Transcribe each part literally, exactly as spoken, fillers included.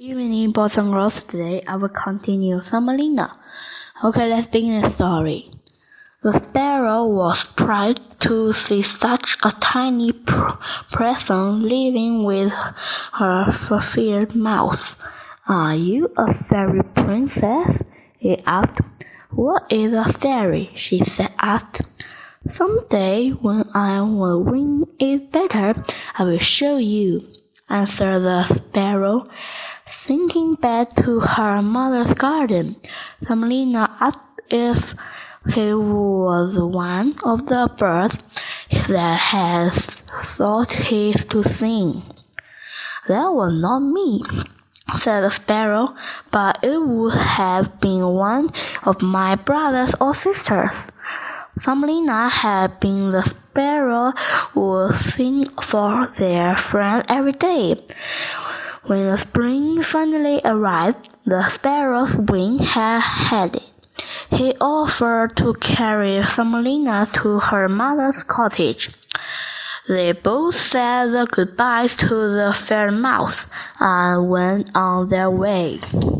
Evening, boys and girls. Today I will continue Thumbelina. Okay, let's begin the story. The sparrow was proud to see such a tiny pr- person living with her furred mouth. "Are you a fairy princess?" he asked. "What is a fairy?" she said asked. "Someday, when our wing is better, I will show you," answered the sparrow. Thinking back to her mother's garden, Thumbelina asked if he was one of the birds that had taught her to sing. "That was not me," said the sparrow, "but it would have been one of my brothers or sisters." Thumbelina had been the sparrow who would sing for their friend every day. When the spring finally arrived, the sparrow's wing had had it. He offered to carry Thumbelina to her mother's cottage. They both said the goodbyes to the fair mouse and went on their way.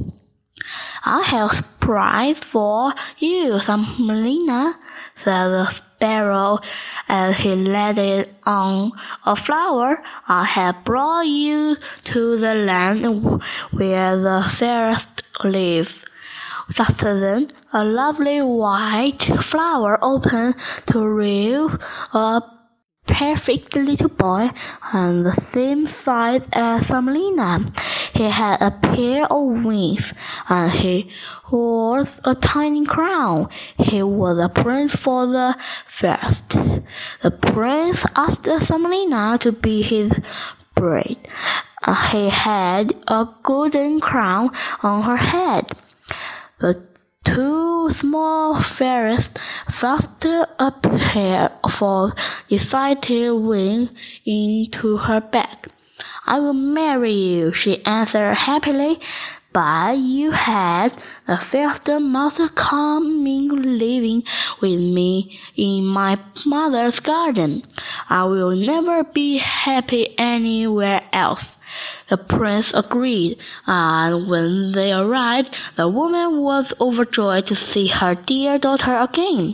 "I have a surprise for you, Thumbelina," said the sparrow as he laid it on a flower. "I have brought you to the land where the fairies live." Just then, a lovely white flower opened to reveal a perfect little boy, and the same size as Thumbelina. He had a pair of wings, and he wore a tiny crown. He was a prince for the first. The prince asked Thumbelina to be his bride. He had a golden crown on her head. The two small fairies fastened a pair of excited wings into her back. "I will marry you," she answered happily, "but you had the first must come in living with me in my mother's garden. I will never be happy anywhere else." The prince agreed, and when they arrived, the woman was overjoyed to see her dear daughter again.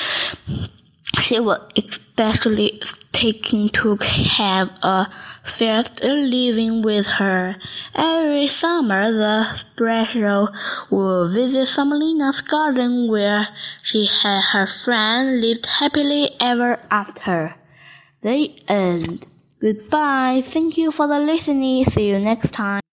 She was especially taken to have a first living with her. Every summer, the sparrow would visit Thumbelina's garden, where she and her friend lived happily ever after. The end. Goodbye. Thank you for the listening. See you next time.